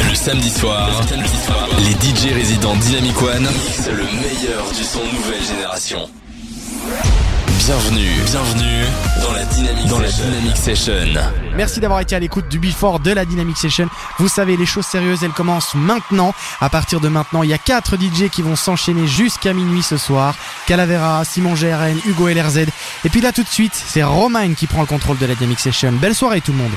Le samedi soir, les DJ résidents Dynamic One mixent le meilleur du son nouvelle génération. Bienvenue dans la Dynamic Session. Merci d'avoir été à l'écoute du Before de la Dynamic Session. Vous savez, les choses sérieuses, elles commencent maintenant. À partir de maintenant, il y a 4 DJ qui vont s'enchaîner jusqu'à minuit ce soir. Calavera, Simon GRN, Hugo LRZ. Et puis là, tout de suite, c'est Romain qui prend le contrôle de la Dynamic Session. Belle soirée tout le monde.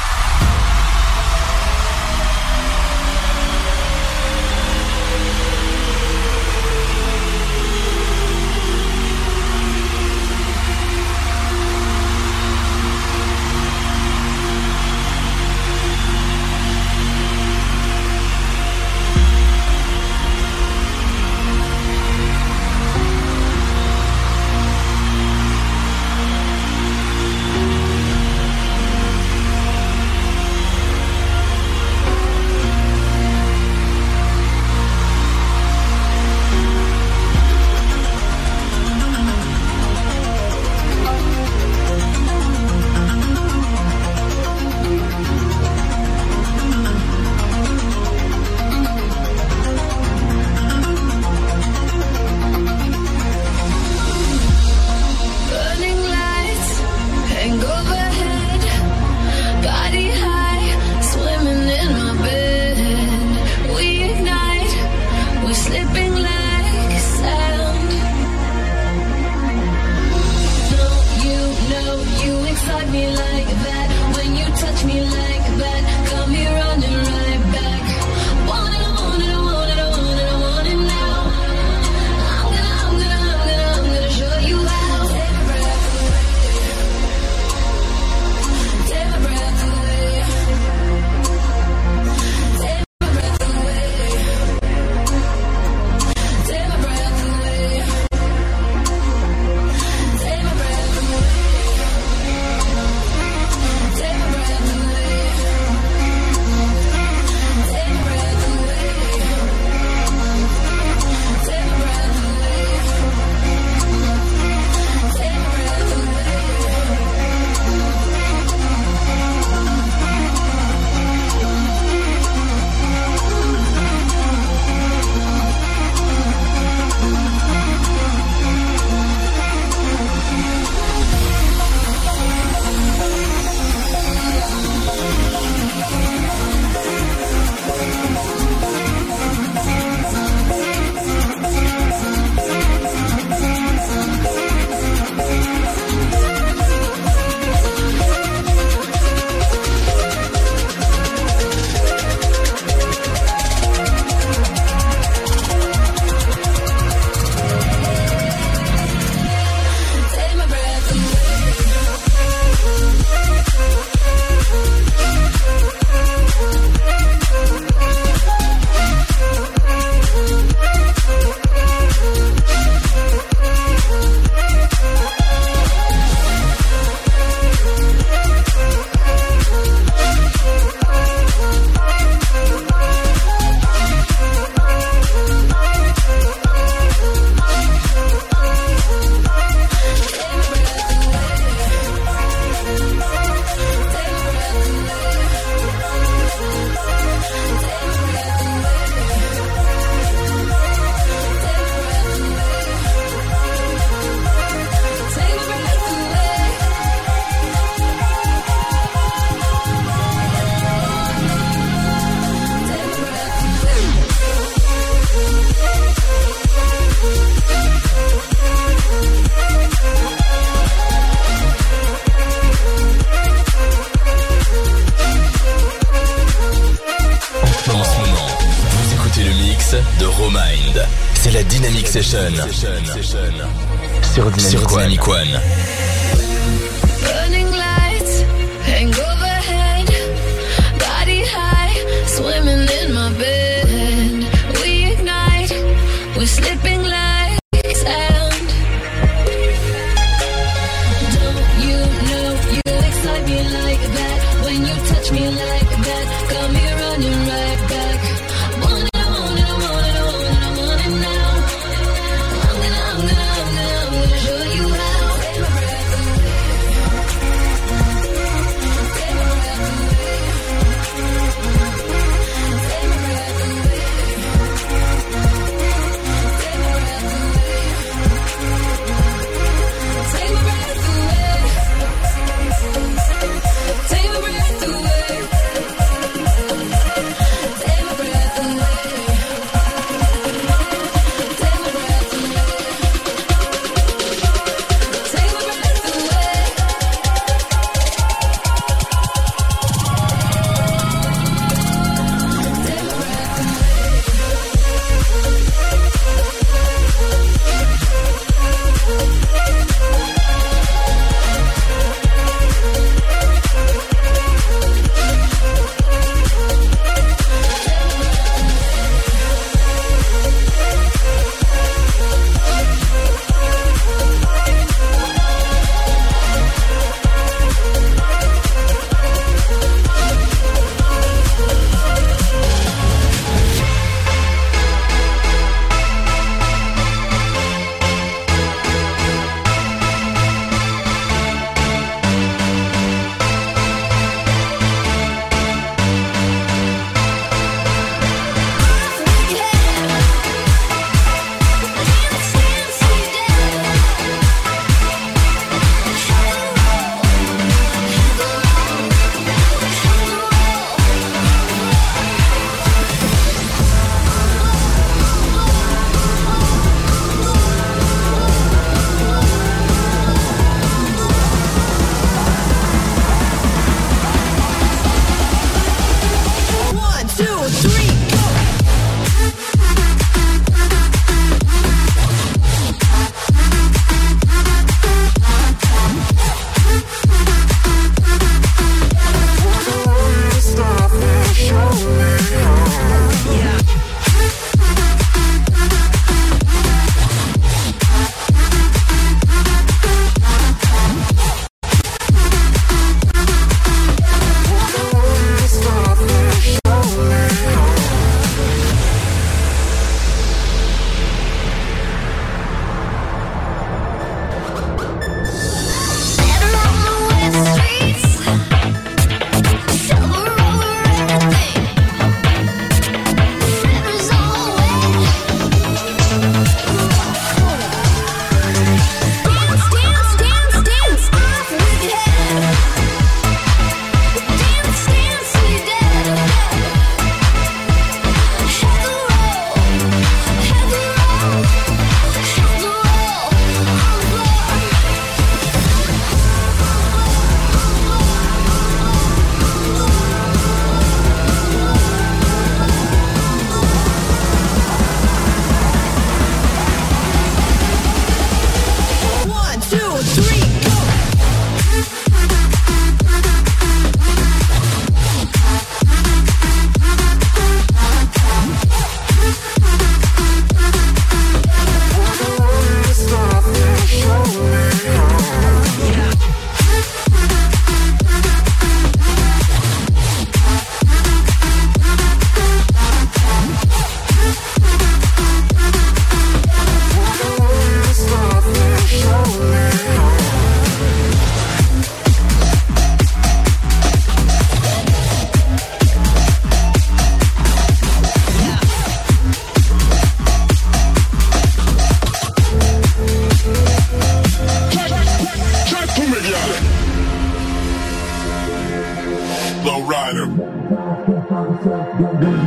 C'est la Dynamic Session sur Dynamic One. Burning lights hang overhead, body high, swimming in my bed. We ignite, we're slipping like sand. Don't you know you excite me like that? When you touch me like that, got me running right back. Want it, I want it, I want it, I want it, I want it now. I'm gonna show you how.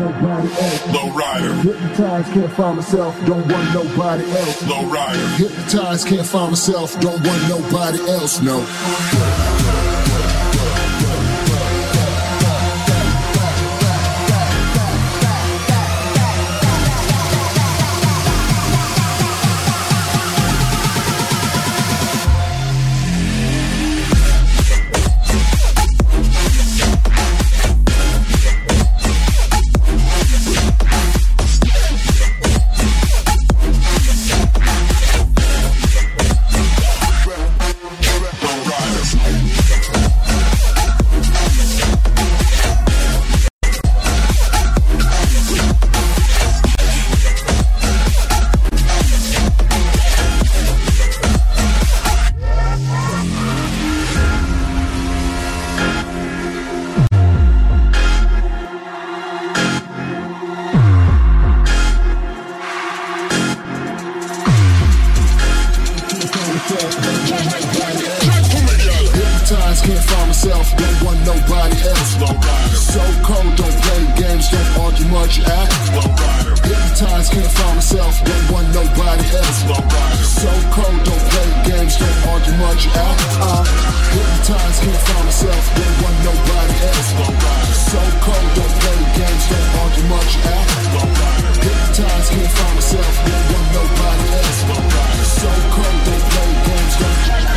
nobody else. Low rider. Hypnotized, can't find myself, don't want nobody else. Low rider. Hypnotized, can't find myself, don't want nobody else, no. Hypnotized, can't find myself, don't want nobody else. So cold, don't play games, don't argue much, act. Hypnotized, can't find myself, don't want nobody else. So cold, don't play games, don't argue much, act. Hypnotized, can't find myself, don't want nobody else. So cold, don't play games, don't argue much, act. Hypnotized, can't find myself, don't want nobody else. So cold, don't play games, don't.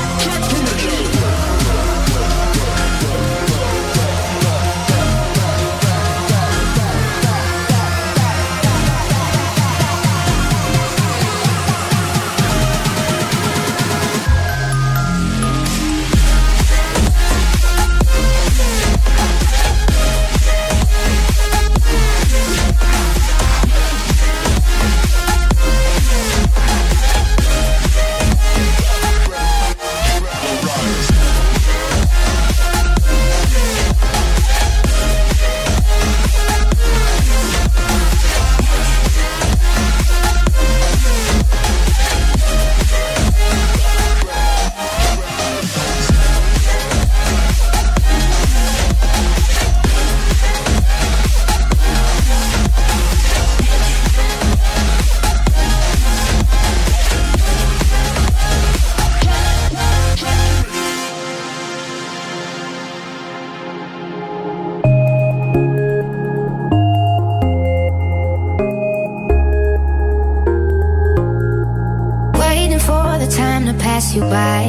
You by.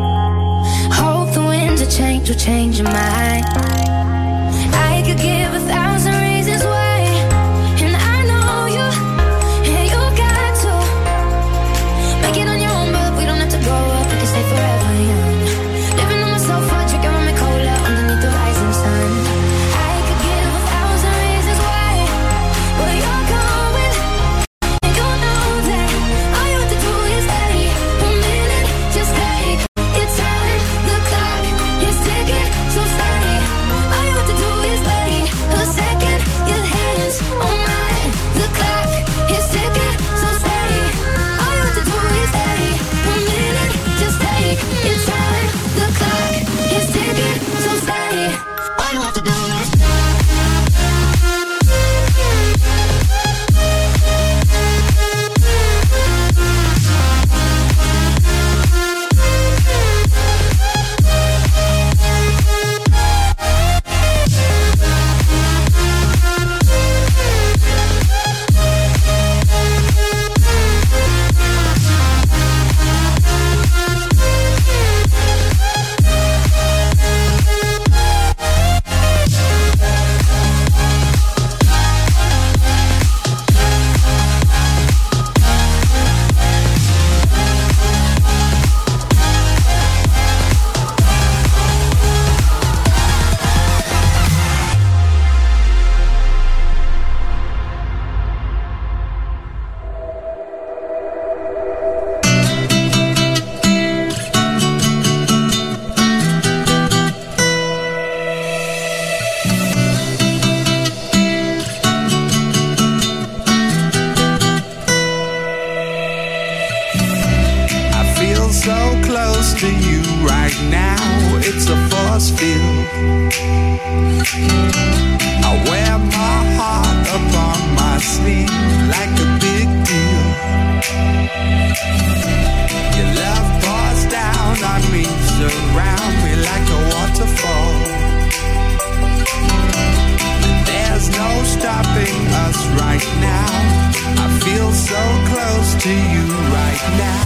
Hope the winds of change will change your mind. I could give 1,000 reasons why, and I know you, and you got to make it on your own, but we don't have to grow up, we can stay forever young. Living on my sofa, drinking rum and cola underneath the rising sun. I could give 1,000 reasons why, but you're going, and you know that all you have to do is stay. Just take your time, the clock is ticking, so stay. All you have to do is wait a second, your hands on mine. The clock is ticking, so stay. All you have to do is stay a minute, just take your time. The clock is ticking, so stay. All you have to do is to you right now, it's a force field. I I wear my heart upon my sleeve like a big deal. Your love pours down on me, surround me like a waterfall. And there's no stopping us right now. I feel so close to you right now.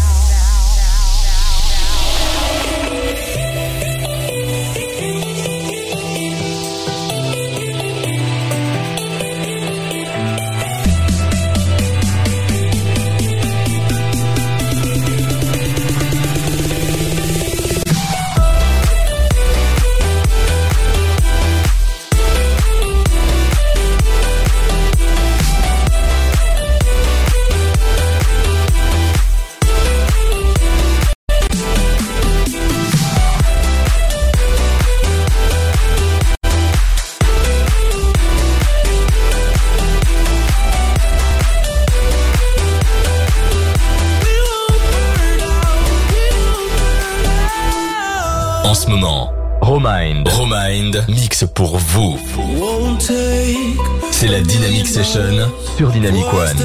Romind mix pour vous. C'est la Dynamic Session sur Dynamic One.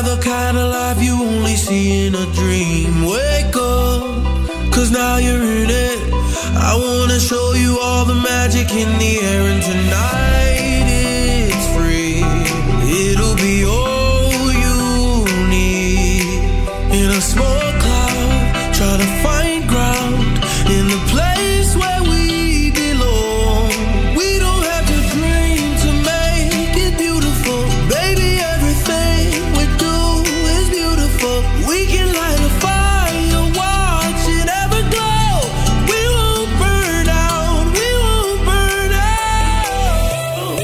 Cause now you're in it. I wanna show you all the magic in the air, and tonight it's free. It'll be all you need. In a small cloud, try to find ground in the place where we belong. We don't have to dream to make it beautiful. Baby, everything we do is beautiful. We can light a fire, watch it ever glow. We won't burn out, we won't burn out.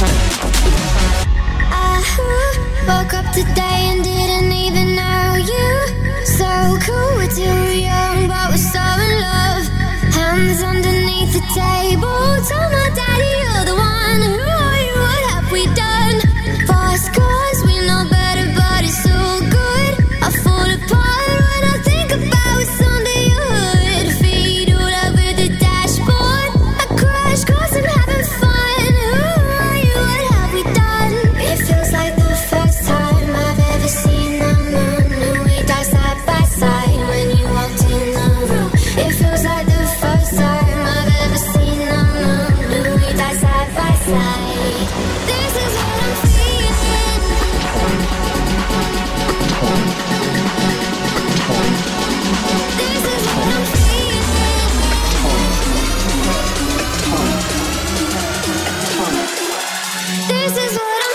Woke up today and didn't even know you. So cool, we're too young, but we're so in love. Hands underneath the table. Told my daddy you're the one. Who are you? What have we done? Fast cars, we know better, but it's so good. I fall apart when I think about what's under your hood. Feet all over the dashboard. I crash 'cause I'm having fun. Who are you? What have we done? It feels like the first time I've ever seen the moon. And we died side by side when you walked in the room. It feels like the first time I've ever seen the moon. And we died side by side. This is what I'm feeling. This is what I'm feeling. This is what I'm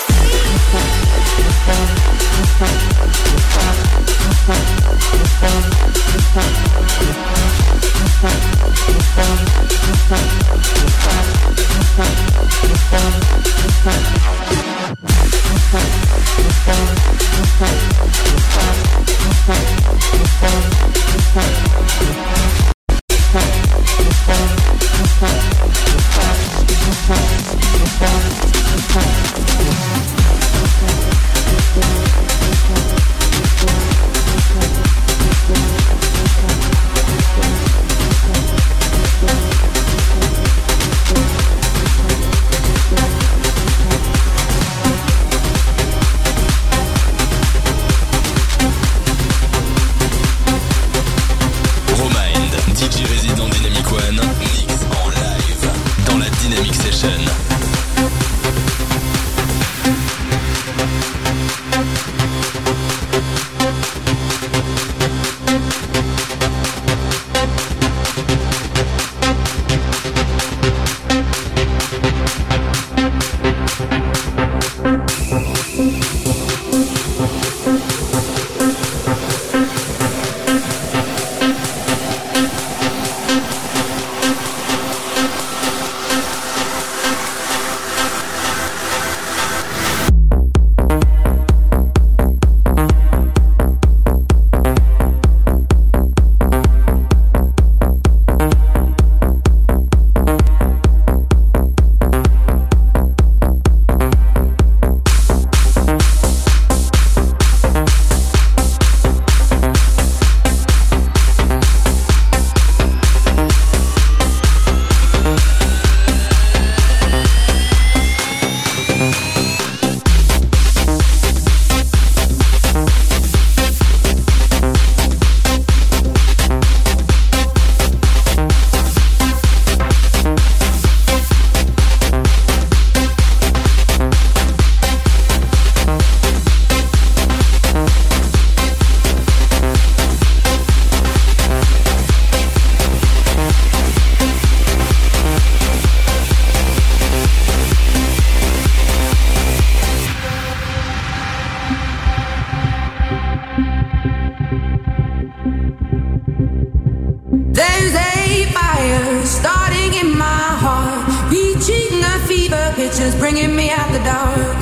There's a fire starting in my heart, reaching a fever pitch, just bringing me out the dark.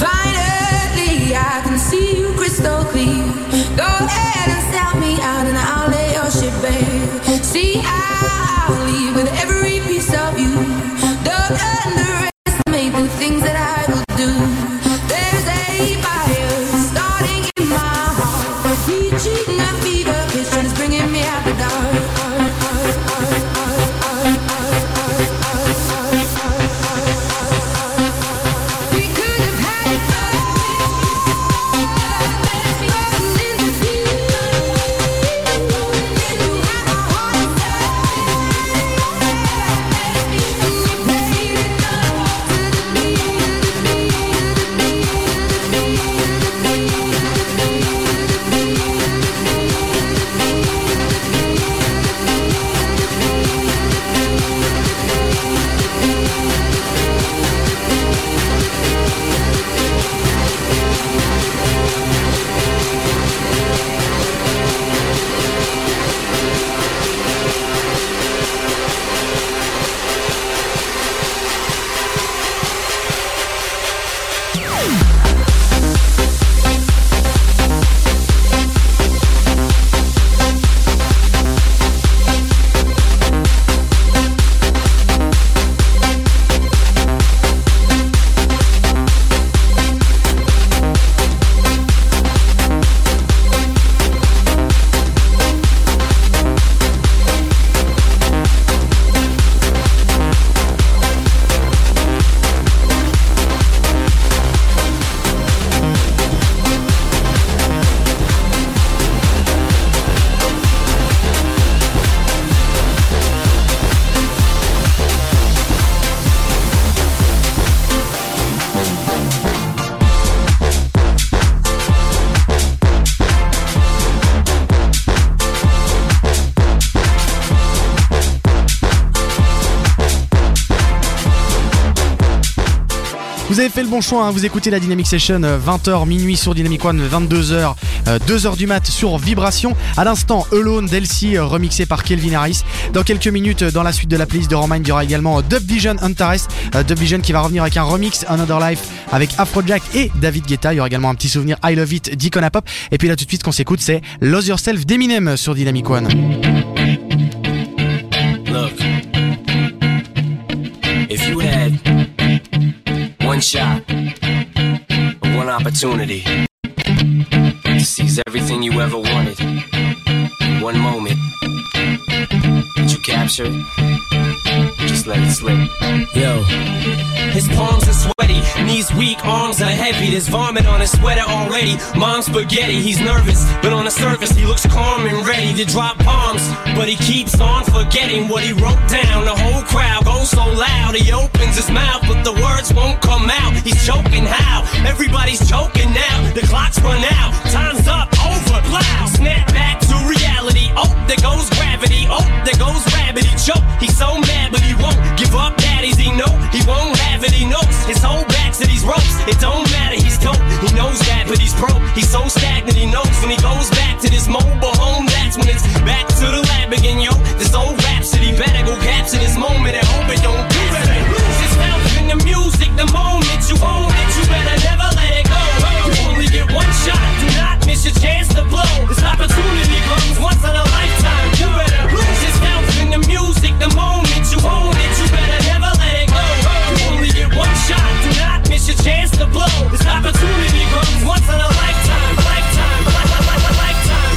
Finally, I can see you crystal clear. Go ahead and sell me out and I'll lay your shit bare. See, I'll leave with every piece of you. Don't underestimate the things that I will do. There's a fire starting in my heart, reaching a fever pitch, just bringing me out the dark. Vous avez fait le bon choix, hein, vous écoutez la Dynamic Session 20h minuit sur Dynamic One, 22h, 2h du mat sur Vibration. À l'instant, Alone d'Elsie remixé par Kelvin Harris. Dans quelques minutes, dans la suite de la playlist de Romind, il y aura également Dub Vision Antares. Dub Vision qui va revenir avec un remix Another Life avec Afrojack et David Guetta. Il y aura également un petit souvenir I Love It d'Icona Pop. Et puis là tout de suite qu'on s'écoute, c'est Lose Yourself d'Eminem sur Dynamic One. Look, if you had one shot, one opportunity to seize everything you ever wanted, one moment that you captured, just let it slip. Yo, his palms are sweaty, knees weak, arms are heavy. There's vomit on his sweater already. Mom's spaghetti, he's nervous, but on the surface he looks calm and ready to drop bombs. But he keeps on forgetting what he wrote down. The whole crowd goes so loud, he opens his mouth, but the words won't come out. He's choking how? Everybody's choking now. The clock's run out, time's up, over, loud. Snap back to reality. Oh, there goes gravity. Oh, there goes rabbit. He choke. He's so mad, but he won't give up. Daddies, he know he won't have it. He knows his whole back to these ropes. It don't matter. He's dope. He knows that, but he's broke. He's so stagnant. He knows when he goes back to this mobile home. That's when it's back to the lab again, yo. This old rhapsody better go capture this moment and hope it don't do it. Lose yourself in the music. The moment you own it, you better never let it go. You only get one shot. Do not miss your chance to blow. This opportunity comes once in a lifetime. You better lose yourself in the music. The moment you own it, you better never let it go. You only get one shot. Do not miss your chance to blow. This opportunity comes once in a lifetime. Lifetime. Lifetime.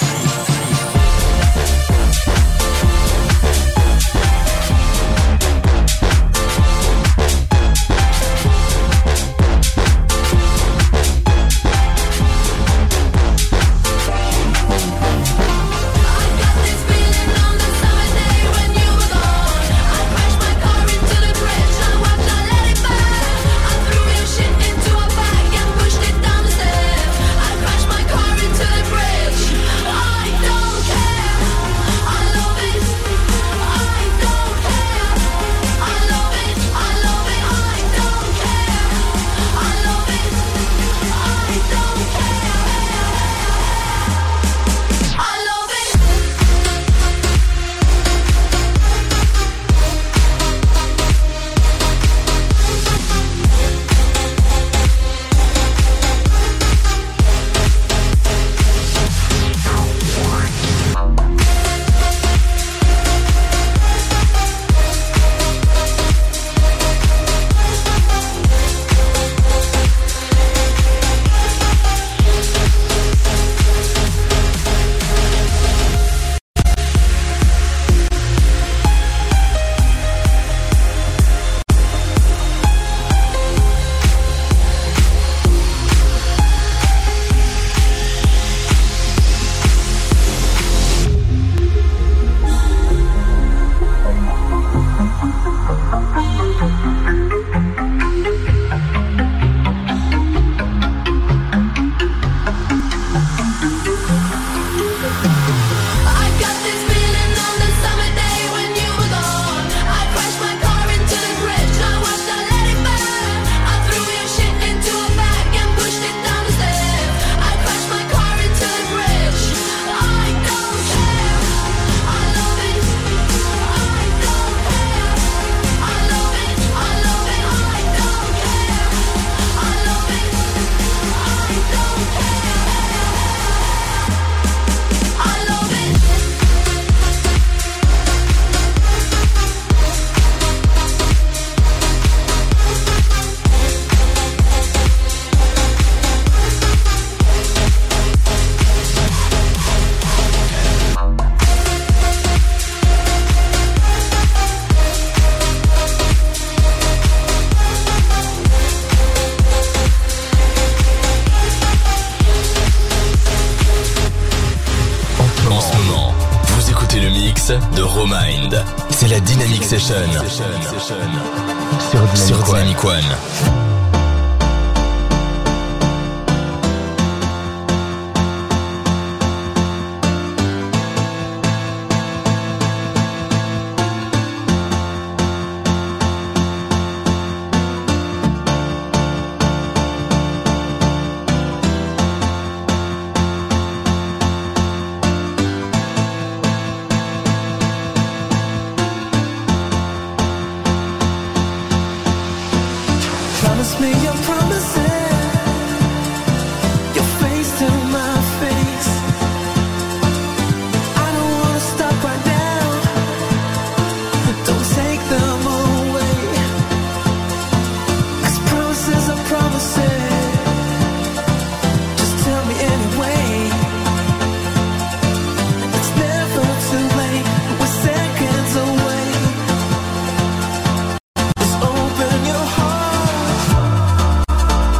de Romind. C'est la Dynamic Session sur Dynamic One. me your promises, your face to my face. I don't wanna stop right now. Don't take them away. 'Cause promises are promises. Just tell me anyway. It's never too late. We're seconds away. Just open your heart.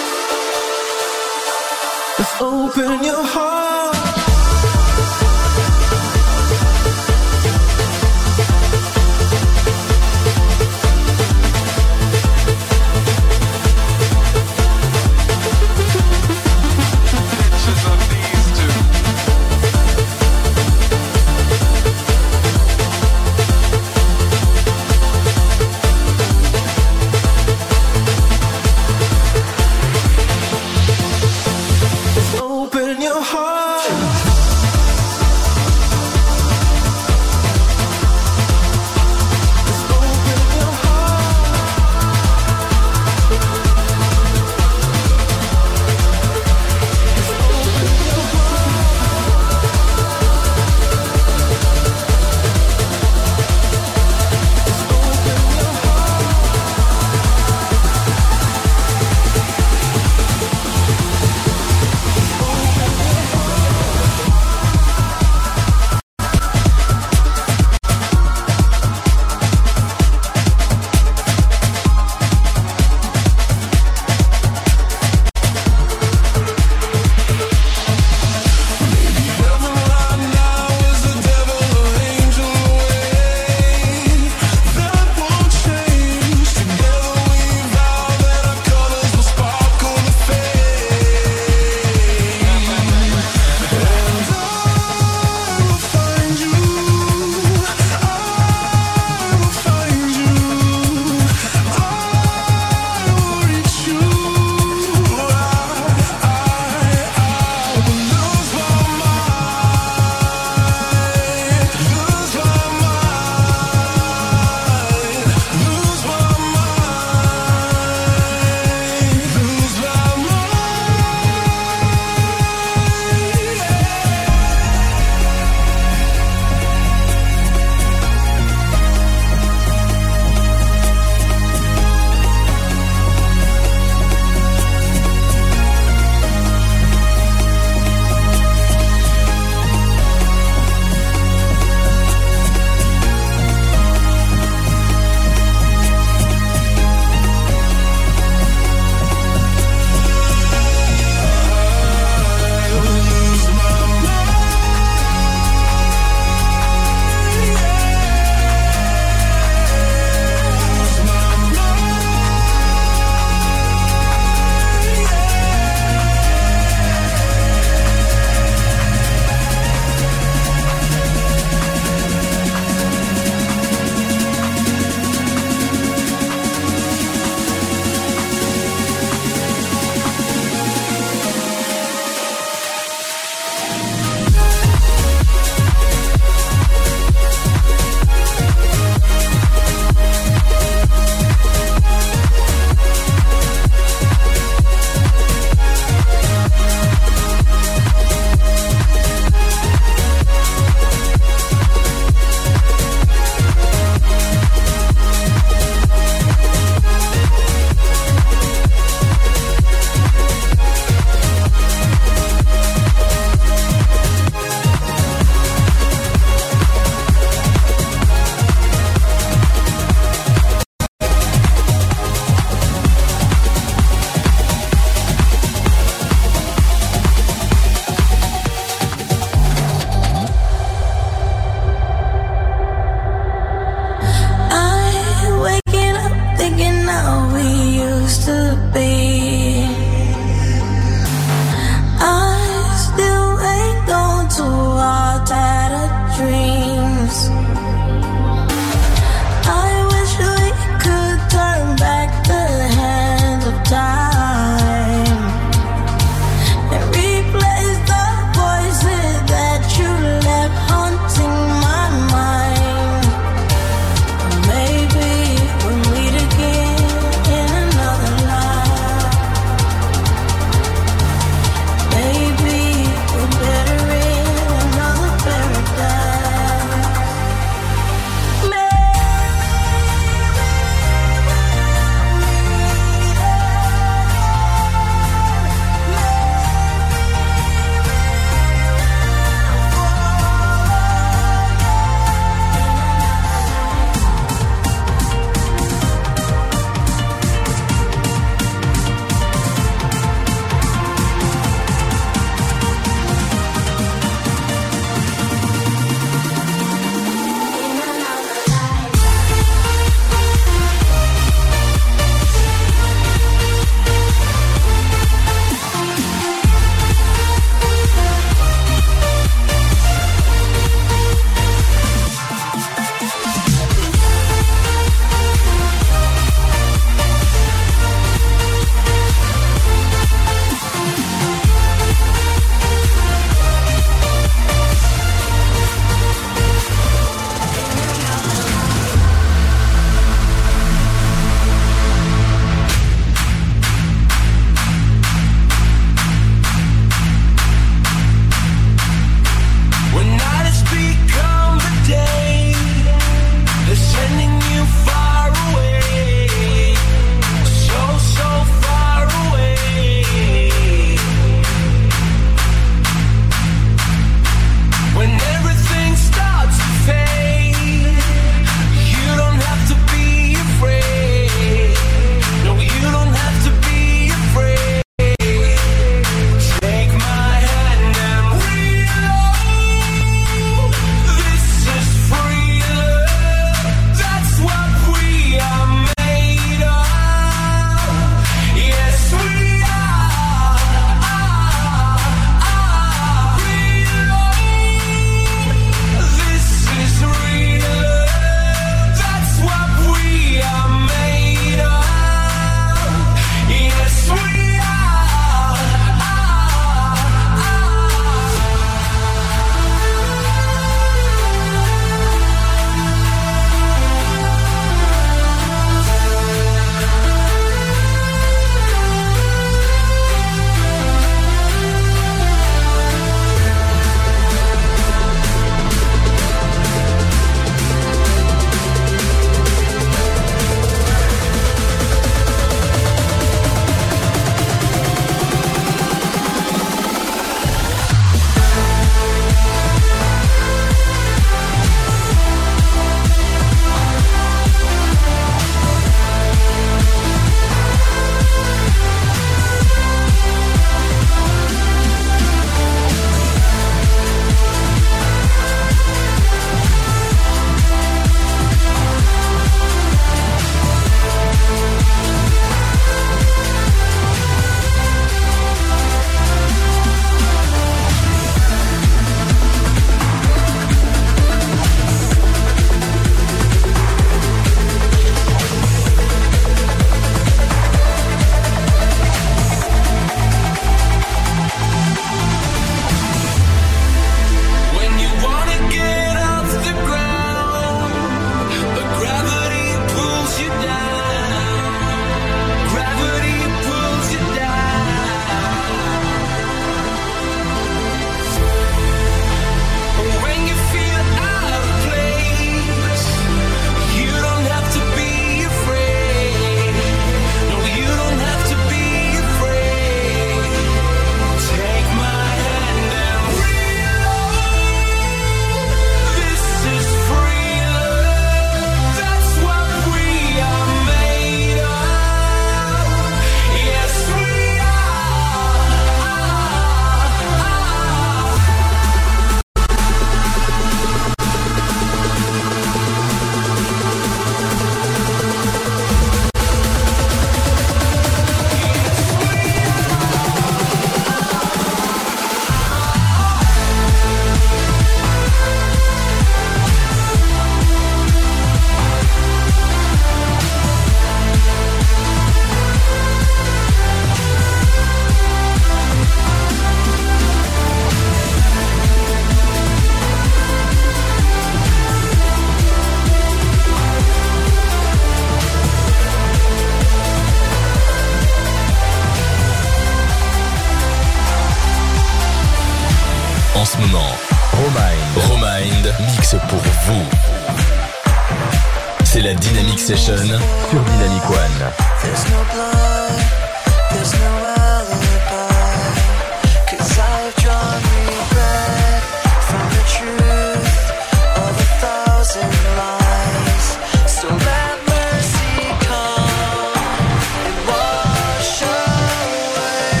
Romind mix pour vous. C'est la Dynamic Session sur Dynamic One. There's no blood, there's no alibi, 'cause I've drawn regret from the truth of 1,000 lies. So let mercy come and wash away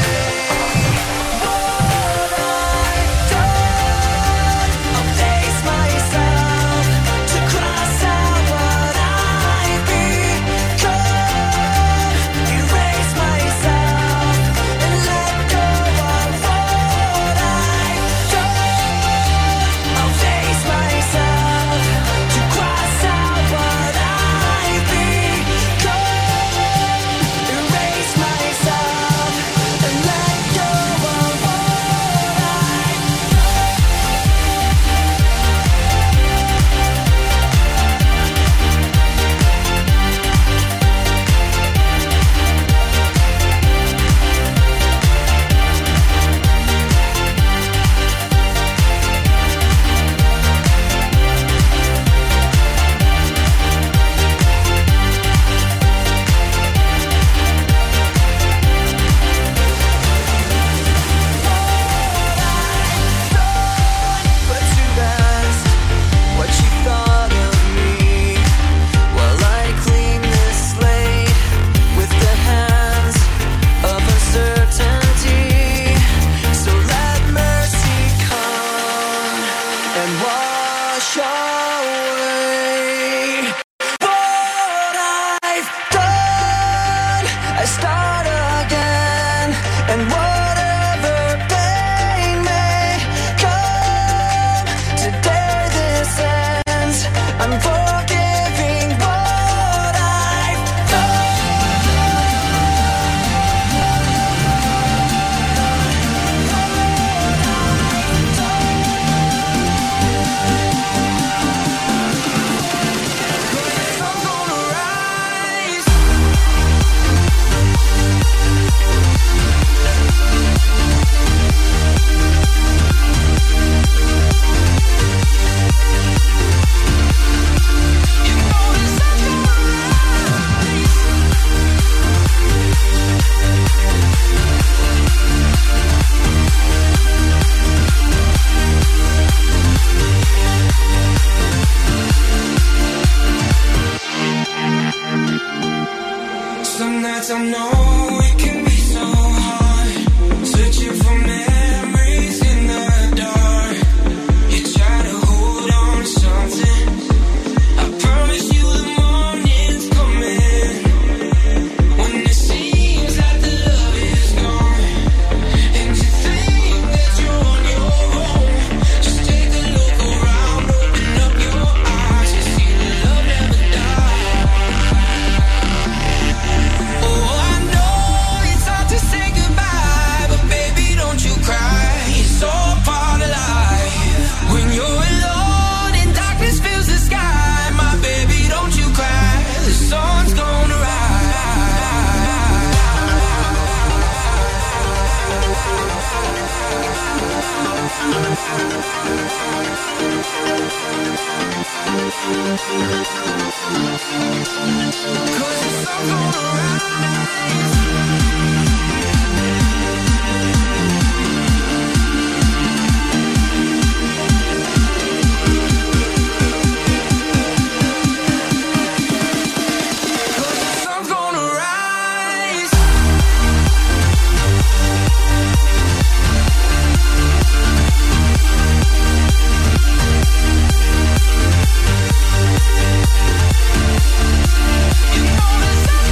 what I've done. I'll face myself to cross out what I've become. Erase myself and let go of what I've done. I'll face myself to cross out what I've become. Erase myself and let go of what I've put to rest what you thought of me while I clean this slate with the hands of uncertainty. So let mercy come and wash away what I've done. I start again, and whatever pain may come, today this ends. I'm forgiving what I've I'm gonna rise. Some nights I know it can be so hard, searching for memories in the dark. You try to hold on to something. I promise you the morning's coming. When it seems like the love is gone, and you think that you're on your own, just take a look around, open up your eyes, you see the love never dies. Oh, I know it's hard to say goodbye, but baby, don't you cry. It's all part of life. When you're alone and darkness fills the sky, my baby, don't you cry. The sun's gonna Cause the sun's gonna rise. Cause the sun's gonna rise. You know the sun's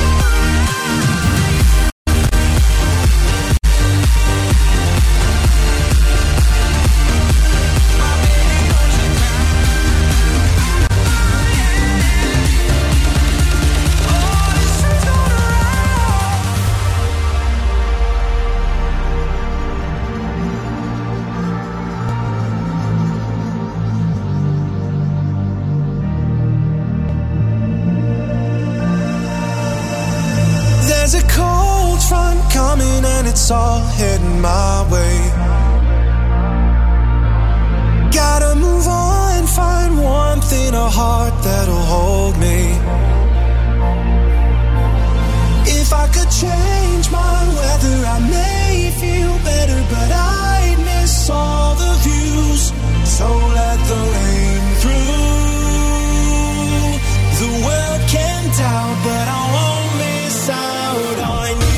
it's all heading my way. Got a heart that'll hold me. If I could change my weather, I may feel better, but I'd miss all the views. So let the rain through. The world can doubt, but I won't miss out on you.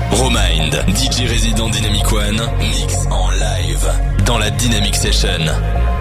Romind, DJ résident Dynamic One, mix en live dans la Dynamic Session.